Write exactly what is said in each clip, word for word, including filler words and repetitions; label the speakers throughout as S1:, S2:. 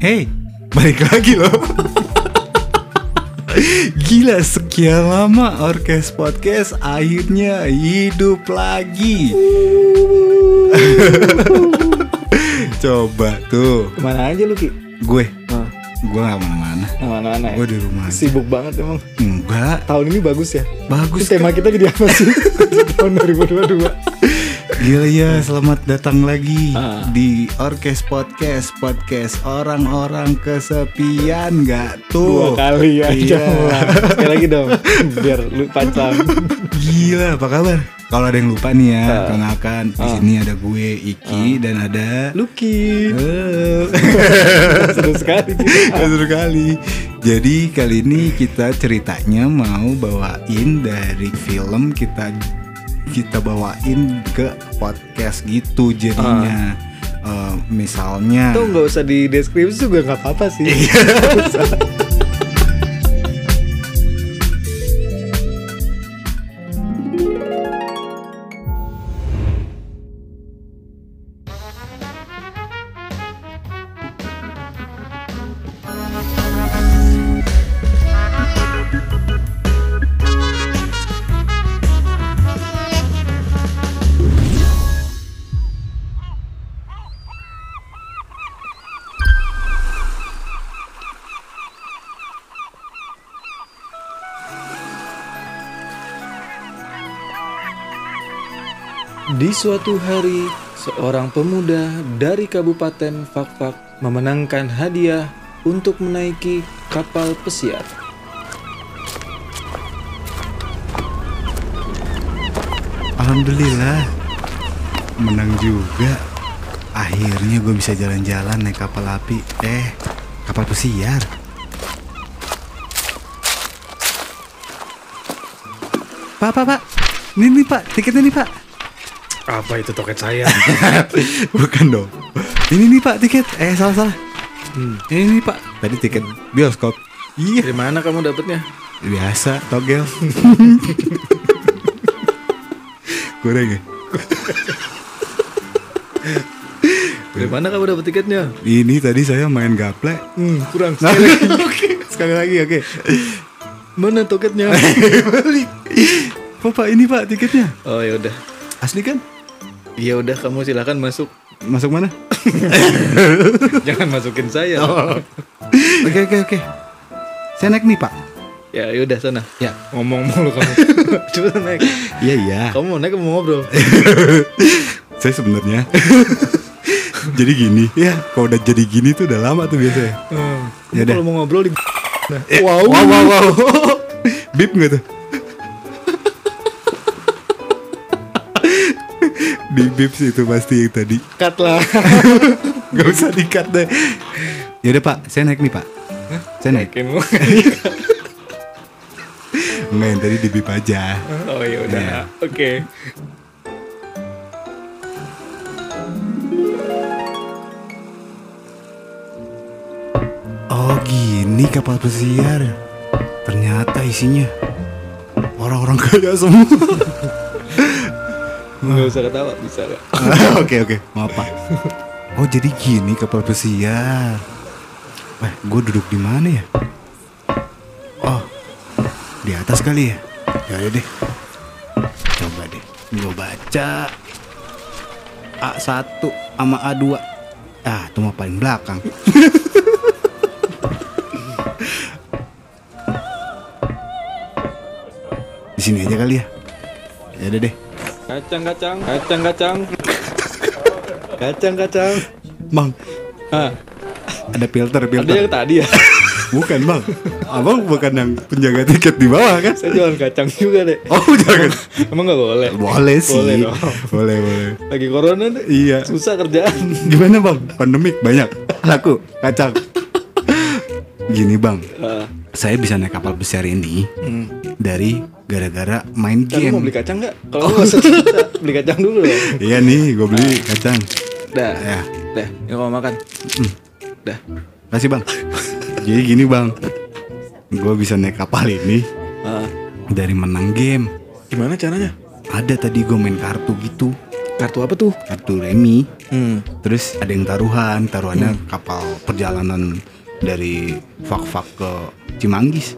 S1: Hey, balik lagi loh. Gila, sekian lama Orkes Podcast akhirnya hidup lagi. Coba tuh.
S2: Kemana aja lu Ki?
S1: Gue
S2: Oh.
S1: Gue gak mana-mana.
S2: Mana-mana ya?
S1: Gue di rumah aja.
S2: Sibuk banget emang.
S1: Enggak.
S2: Tahun ini bagus ya?
S1: Bagus.
S2: Terus tema kita jadi apa sih? Tahun dua ribu dua puluh dua.
S1: Gila ya, selamat datang lagi
S2: Ah.
S1: di Orkes Podcast. Podcast orang-orang kesepian. Gak
S2: Dua
S1: tuh?
S2: kali aja.
S1: Iya.
S2: Sekali lagi dong. Biar lu pancang.
S1: Gila, apa kabar? Kalau ada yang lupa nih ya,
S2: Ah.
S1: kenalkan di
S2: Ah.
S1: sini ada gue Iki dan ada
S2: Lucky.
S1: Halo.
S2: Seru sekali kita.
S1: Seru kali. Jadi kali ini kita ceritanya mau bawain dari film kita kita bawain ke podcast gitu jadinya. Eh, misalnya.
S2: Tuh nggak usah di deskripsi juga nggak apa-apa sih. Di suatu hari, seorang pemuda dari Kabupaten Fakfak memenangkan hadiah untuk menaiki kapal pesiar.
S1: Alhamdulillah, menang juga. Akhirnya gue bisa jalan-jalan naik kapal api. Eh, kapal pesiar. Pak, pak, pak. Ini nih pak, tiketnya nih pak.
S2: Apa itu toket saya?
S1: Bukan dong. Ini nih pak tiket. Eh, salah-salah.
S2: Hmm.
S1: Ini nih pak. Tadi tiket bioskop. Iya.
S2: Dari mana kamu dapatnya?
S1: Biasa, togel. Kurang ya?
S2: Dari mana kamu dapat tiketnya?
S1: Ini tadi saya main gaple.
S2: Hmm, kurang.
S1: Nah,
S2: Sekali lagi.
S1: oke, sekali lagi, oke.
S2: Mana toketnya?
S1: Balik. Pak, pak, ini pak tiketnya.
S2: Oh ya udah.
S1: Asli kan?
S2: Ya udah, kamu silakan masuk.
S1: Masuk mana?
S2: Jangan masukin saya.
S1: Oh. Oke, oke, oke. Saya naik nih pak.
S2: Ya yaudah sana.
S1: Ya.
S2: Ngomong mulu kamu. Coba naik.
S1: Iya, iya.
S2: Kamu mau naik, kamu mau ngobrol.
S1: Saya sebenarnya. Jadi gini. Ya, kalau udah jadi gini tuh udah lama tuh biasanya.
S2: Hmm.
S1: Ya udah.
S2: Kalau mau ngobrol di. Nah.
S1: Eh,
S2: Wow.
S1: wow, wow, wow. Bip nggak tuh? Di bip sih itu pasti yang tadi.
S2: Cut lah.
S1: Gak usah di-cut deh. Yaudah pak, saya naik nih pak. Saya naik.
S2: Yakin lu?
S1: Enggak, yang tadi di bip aja.
S2: Oh ya udah.
S1: Iya.
S2: Oke.
S1: Oh gini kapal pesiar. Ternyata isinya orang-orang kaya semua.
S2: Nggak usah ketawa, bisa gak?
S1: Oke oke, maaf pak. Oh jadi gini kapal pesiar. Wah, gue duduk di mana ya? Oh, di atas kali ya. Ya udah deh. Coba deh, gue baca A satu sama A dua. Ah, itu mah paling belakang. Di sini aja kali ya. Ya udah deh.
S2: Kacang-kacang, kacang-kacang. Kacang-kacang.
S1: Bang,
S2: Ah,
S1: ada filter
S2: ada
S1: filter.
S2: yang tadi ya.
S1: Bukan bang, abang bukan yang penjaga tiket di bawah kan?
S2: Saya jualan kacang juga deh.
S1: Oh jangan.
S2: Emang nggak boleh?
S1: Boleh sih.
S2: Boleh dong.
S1: Boleh boleh.
S2: Lagi corona deh.
S1: Iya.
S2: Susah kerjaan.
S1: Gimana bang? Pandemik banyak. Laku kacang. Gini bang,
S2: Ah,
S1: saya bisa naik kapal besar ini
S2: hmm.
S1: dari gara-gara main
S2: Kan lu mau
S1: game.
S2: beli kacang nggak? Kalau lu nggak usah cerita, beli kacang dulu dong.
S1: Iya nih, gue beli kacang.
S2: Dah,
S1: Ya,
S2: dah. Yang mau makan?
S1: Hmm.
S2: Dah.
S1: kasih bang. Jadi gini bang, gue bisa naik kapal ini
S2: Ah,
S1: dari menang game.
S2: gimana caranya?
S1: Ada tadi gue main kartu gitu.
S2: Kartu apa tuh?
S1: kartu remi.
S2: Hmm.
S1: Terus ada yang taruhan, taruhannya kapal perjalanan dari Fak-Fak ke Cimanggis.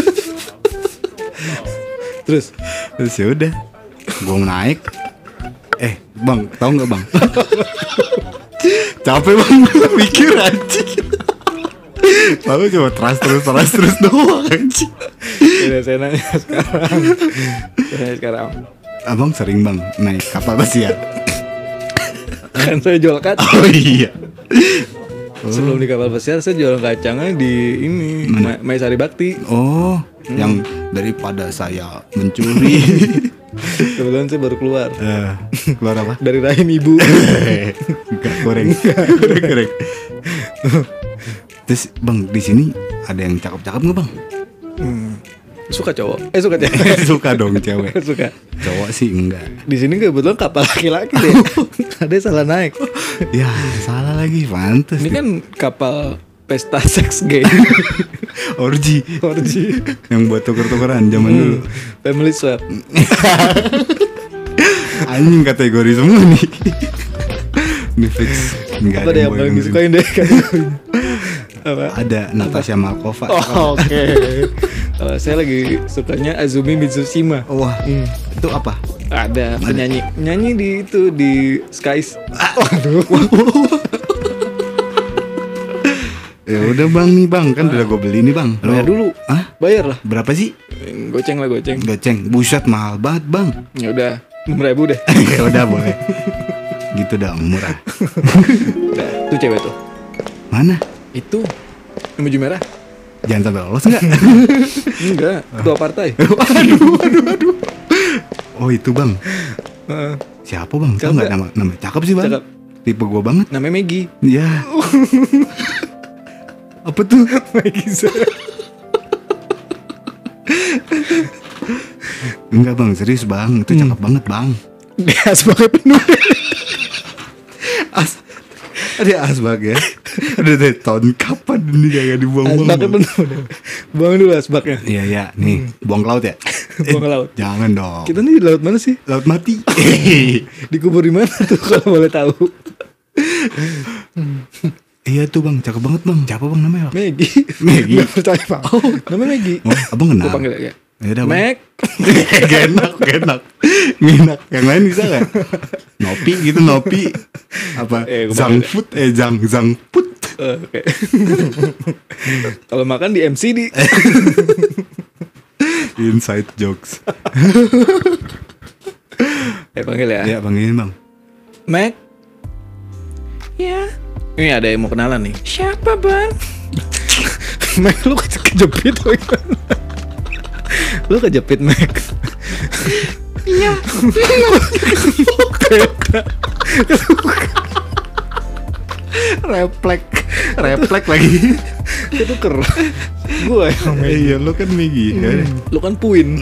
S2: Terus
S1: Terus ya udah, gue naik. Eh bang, tahu nggak bang? Capek bang, mikir anjing. Lalu cuma terus terus terus terus doang anjing.
S2: udah saya nanya sekarang. Saya nanya sekarang.
S1: Abang sering bang naik kapal pesiar?
S2: Kan saya jual kacang.
S1: Oh iya.
S2: Sebelum di kapal pesiar saya jual kacangnya di ini Ma- Maisari Bakti.
S1: Oh, yang daripada saya mencuri.
S2: Kebetulan saya baru keluar
S1: Eh, keluar apa?
S2: dari rahim ibu.
S1: Enggak goreng. Goreng goreng. Terus bang di sini ada yang cakep-cakep nggak bang?
S2: Hmm. Suka cowok? Eh suka cewek?
S1: Suka dong cewek.
S2: Suka.
S1: Cowok sih enggak.
S2: Di sini kebetulan kapal laki-laki deh. Ada yang salah naik.
S1: Ya salah lagi, pantes.
S2: Ini kan kapal pesta seks gay.
S1: orgi.
S2: Orgi.
S1: Yang buat tuker-tukeran zaman dulu.
S2: Family swap.
S1: Anjing kategori semua nih. Ini fix. Enggak
S2: Apa deh yang paling disukain deh kategorinya? Apa?
S1: Ada Natasha Malkova.
S2: Oh, oke. Kalau saya lagi sukanya Azumi Mitsushima.
S1: Wah,
S2: Hmm.
S1: itu apa?
S2: Ada penyanyi nyanyi di itu di Skies.
S1: Waduh. Ya udah bang nih bang, kan udah gue beli nih bang.
S2: Bayar dulu.
S1: Hah?
S2: Bayar lah.
S1: Berapa sih?
S2: Goceng lah goceng.
S1: Goceng. Buset mahal banget bang.
S2: Ya udah enam ribu deh.
S1: Ya udah boleh. Gitu dong murah.
S2: Udah, tuh cewek tuh.
S1: Mana?
S2: Itu yang baju merah.
S1: Jangan sampai lolos enggak?
S2: Enggak, ketua partai.
S1: Aduh, aduh, aduh. Oh itu bang.
S2: Heeh.
S1: Siapa bang? Tahu
S2: Siapa?
S1: nggak nama nama? Cakep sih bang.
S2: Cakep.
S1: Tipe gue banget.
S2: Namanya Maggie.
S1: Ya. Apa tuh?
S2: Maggie Z.
S1: Enggak bang, serius bang. Itu cakep banget bang.
S2: Dia sebagai penuh.
S1: As ada asbak ya. Ada deh tahun kapan ini kagak dibuang-buang.
S2: Asbaknya
S1: Bang?
S2: penuh deh. Buang dulu asbaknya.
S1: Iya ya, nih buang ke laut ya.
S2: Buang ke laut.
S1: Jangan dong.
S2: Kita nih di laut mana sih?
S1: Laut mati.
S2: Dikubur di mana tuh kalau boleh tahu?
S1: Iya tuh bang, cakep banget bang. Siapa bang namanya? Bang?
S2: Maggie.
S1: Maggie.
S2: Nggak percaya pak. Oh, namanya Maggie.
S1: Oh, abang kenal.
S2: Gue panggil ya.
S1: Ya udah, Bang.
S2: Meg.
S1: Gak enak, gak enak. Gak enak. Yang lain bisa gak? Nopi gitu, Nopi. Apa?
S2: Eh, gua
S1: Zang
S2: panggil.
S1: Food, eh Zang Zang Put.
S2: Eh, Oke. Kalau makan di M C D.
S1: Inside jokes.
S2: Eh panggil ya.
S1: Ya panggilin bang.
S2: Meg. Ya. Ini ada yang mau kenalan nih. Siapa bang? Meg lu ke- kejepit atau gimana? Lu kejepit Meg. Iya.
S1: Reflek, reflek lagi.
S2: Itu ker. Gue yang Meg.
S1: Iya, lo kan Maggie. Ya udah.
S2: Lu kan Puin.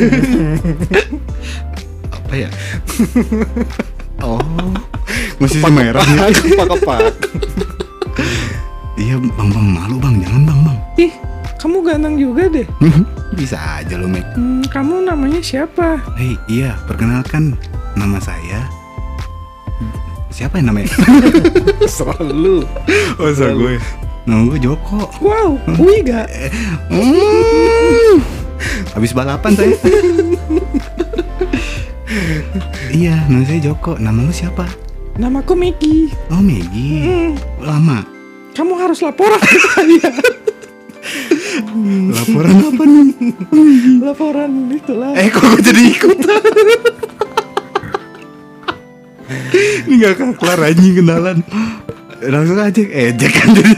S1: Apa ya? Oh, masih si merah ya?
S2: Kepak-kepak.
S1: Iya bang bang, malu bang, jangan bang bang.
S2: Ih, kamu ganteng juga deh.
S1: Bisa aja lo Meg.
S2: Hmm, kamu namanya siapa?
S1: Hei, iya, perkenalkan nama saya. Siapa yang namanya?
S2: Selalu.
S1: Oh, so gue. Nama gue Joko.
S2: Wow, Wiga.
S1: Hmm. Habis balapan saya. Iya, nama saya Joko. Nama lu siapa?
S2: Namaku Maggie.
S1: Oh, Maggie.
S2: Hmm,
S1: Lama.
S2: kamu harus laporan ke saya.
S1: Laporan apa nih?
S2: Laporan itulah.
S1: Eh, kok gue jadi ikutan? Ini gak kelar anjing kenalan. Langsung aja ejek kan jadi.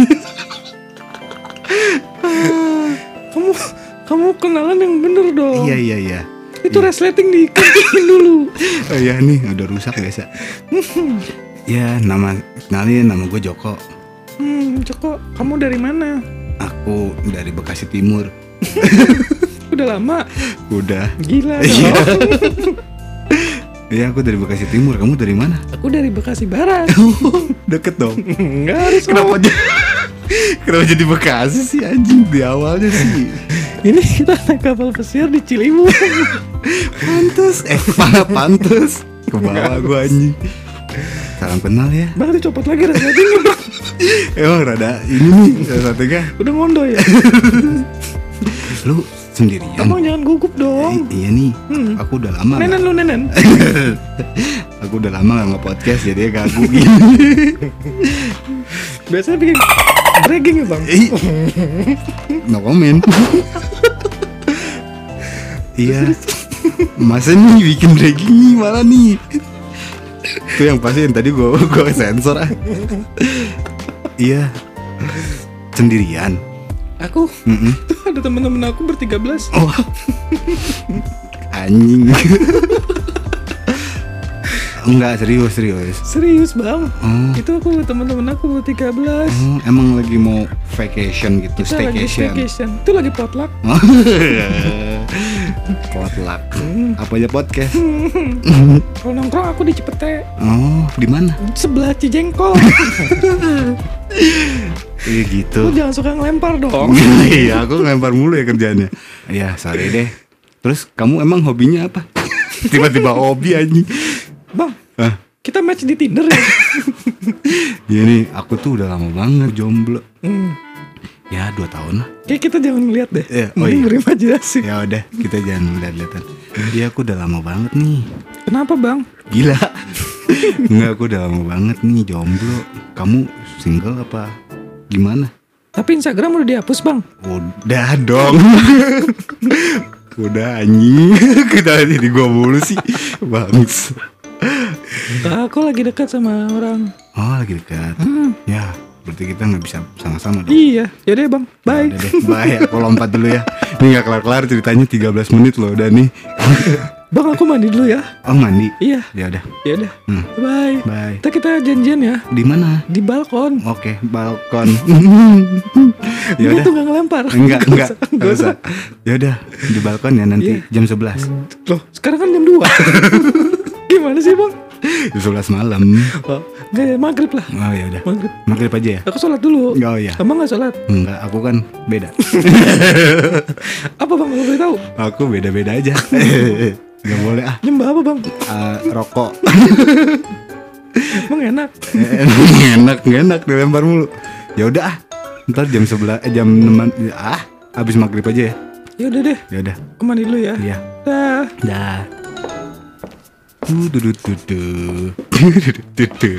S2: Kamu kamu kenalan yang bener dong.
S1: Iya, iya, iya.
S2: Itu resleting dikuntingin dulu.
S1: Oh iya nih, udah rusak biasa. Ya, nama kenalin, nama gue Joko.
S2: Hmm, Joko, kamu dari mana?
S1: Aku dari Bekasi Timur.
S2: Udah lama.
S1: Udah.
S2: Gila
S1: Iya.
S2: dong.
S1: Iya, aku dari Bekasi Timur. Kamu dari mana?
S2: Aku dari Bekasi Barat.
S1: Deket dong.
S2: Enggak harus.
S1: Kenapa jadi Kenapa jadi Bekasi sih anjing di awalnya sih?
S2: Ini kita naik kapal pesiar di Ciliwung.
S1: Pantes. Eh, mana pantes? Ke bawah gue anjing. Salam kenal ya.
S2: Bang dicopot lagi rasa hatinya bang.
S1: Emang rada ini nih salah satunya.
S2: Udah ngondo ya.
S1: Lu sendirian?
S2: Abang jangan gugup dong.
S1: I- iya nih,
S2: Hmm.
S1: aku udah lama.
S2: Nenen
S1: gak-
S2: lu nenen.
S1: Aku udah lama gak nge-podcast jadi ganggu gini.
S2: Biasanya bikin bragging ya bang.
S1: Ih, no comment. Iya. Masa nih bikin dragging nih malah nih. Itu yang pasti yang tadi gue gue sensor ah. Iya. Sendirian.
S2: Aku
S1: Mm-mm.
S2: tuh ada teman-teman aku bertiga belas.
S1: Oh. Anjing. Enggak, serius serius.
S2: Serius bang.
S1: Oh.
S2: Itu aku teman-teman aku bertiga belas.
S1: Oh, emang lagi mau vacation gitu,
S2: Kita lagi
S1: staycation.
S2: staycation. Itu lagi potluck.
S1: Oh. Potluck. Apa aja podcast?
S2: Kalau nongkrong aku di Cipete.
S1: Oh, di mana?
S2: Sebelah Cijengkol.
S1: Iya
S2: Lu
S1: gitu.
S2: jangan suka ngelempar dong.
S1: Iya, aku ngelempar mulu ya kerjaannya. Iya, sorry deh. Terus kamu emang hobinya apa? Tiba-tiba hobi anjing.
S2: Bang,
S1: Ah,
S2: kita match di Tinder ya.
S1: iya nih, aku tuh udah lama banget jomblo.
S2: Hmm.
S1: Ya, dua tahun lah.
S2: Kayak kita jangan ngeliat deh.
S1: Iya, oh
S2: Mending
S1: iya.
S2: berimajinasi.
S1: Ya udah, kita jangan lihat-lihatan. Iya, aku udah lama banget nih.
S2: Kenapa bang?
S1: Gila. Enggak, aku udah lama banget nih jomblo. Kamu single apa gimana?
S2: Tapi Instagram udah dihapus bang.
S1: Udah dong. Udah anjing. Kita jadi gua mulu sih. Bangs.
S2: Aku lagi dekat sama orang.
S1: Oh, lagi dekat.
S2: Hmm.
S1: Ya, berarti kita nggak bisa sama-sama dong.
S2: Iya. Yaudah bang. Bye.
S1: Udah deh, bye. Aku lompat dulu ya. Ini nggak kelar-kelar ceritanya tiga belas menit loh udah nih.
S2: Bang aku mandi dulu ya.
S1: Oh, mandi.
S2: Iya.
S1: Ya udah.
S2: Yaudah.
S1: Hmm.
S2: Bye.
S1: Bye.
S2: Ntar kita janjian ya.
S1: Di mana?
S2: Di balkon.
S1: Oke, balkon. Ya
S2: Gue
S1: udah.
S2: tuh gak ngelempar.
S1: Enggak,
S2: Gak
S1: enggak.
S2: usah,
S1: Enggak
S2: gak
S1: usah. Ya udah, di balkon ya nanti
S2: Iya.
S1: jam sebelas.
S2: Loh sekarang kan jam dua. Gimana sih bang?
S1: Jam sebelas malam.
S2: Oh, enggak ya maghrib lah.
S1: Oh ya udah.
S2: Maghrib.
S1: Maghrib aja ya?
S2: Aku sholat dulu.
S1: Oh iya.
S2: Abang gak sholat?
S1: Enggak, aku kan beda.
S2: Apa bang kalau boleh tahu?
S1: Aku beda-beda aja. Gak boleh ah.
S2: Nyembah apa bang?
S1: Ah, rokok.
S2: Emang enak.
S1: enak, gak enak dilempar mulu. Ya udah ah. Ntar jam sebelas, eh, jam enam ah, habis maghrib aja ya.
S2: Ya udah deh.
S1: Ya udah.
S2: Aku mandi dulu ya.
S1: Iya.
S2: Dah.
S1: Dah. Du du du du du. Du du du.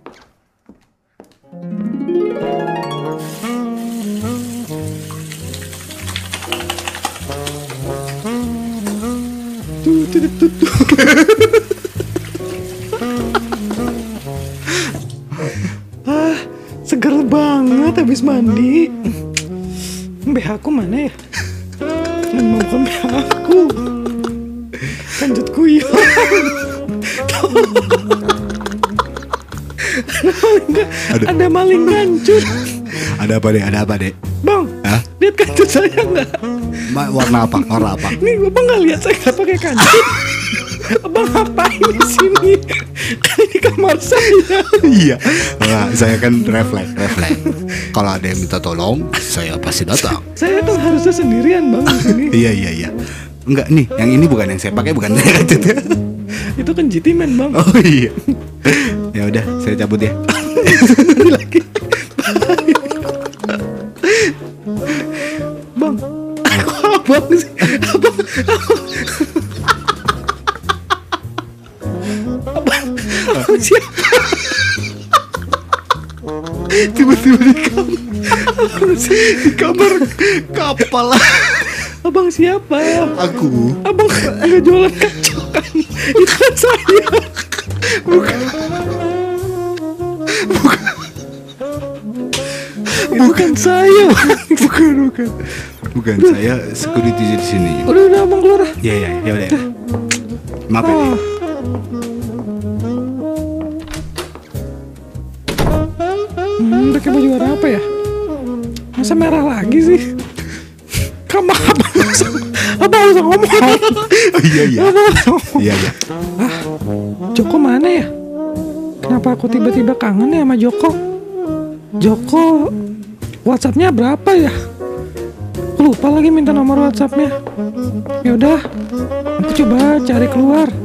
S2: Tuh, tuh, tuh, tuh. Ah, seger banget habis mandi. B H aku mana ya? Emang bukan B H aku. Kanjut kuyup.
S1: Ada.
S2: Ada maling kancut.
S1: Ada apa deh? Ada apa deh?
S2: Bang,
S1: Hah?
S2: lihat kancut saya nggak?
S1: Ma- warna apa? Warna apa?
S2: Nih, abang nggak lihat saya nggak pakai kancut. Abang ngapain di sini? Kan ini kamar saya.
S1: Iya. Nah, saya kan refleks, refleks. Kalau ada yang minta tolong, saya pasti datang.
S2: Saya tuh harusnya sendirian bang di sini.
S1: Iya iya iya. Enggak nih, yang ini bukan yang saya pakai, bukan saya kancut.
S2: Itu kan G T man bang.
S1: Oh iya. Ya udah, saya cabut ya.
S2: Nanti lagi. Bang, kok abang sih? Abang, abang, abang siapa?
S1: Tiba-tiba di kamar, di kamar kapal.
S2: Abang siapa?
S1: Aku.
S2: Abang nggak jualan kacang kan? Itu kan saya.
S1: Bukan.
S2: Itu kan saya.
S1: Bukan, bukan. Bukan, saya security di sini.
S2: Udah udah abang keluar.
S1: Iya iya, ya udah. Maaf ya.
S2: Oh. Hmm, pakai baju warna apa ya? Masa merah lagi sih? Kamu abang langsung, abang langsung ngomong.
S1: Oh, iya iya.
S2: Abang langsung ngomong.
S1: Iya iya.
S2: Ah, Joko mana ya? Kenapa aku tiba-tiba kangen ya sama Joko? Joko, WhatsApp-nya berapa ya? Aku lupa lagi minta nomor WhatsApp-nya. Ya udah, aku coba cari keluar.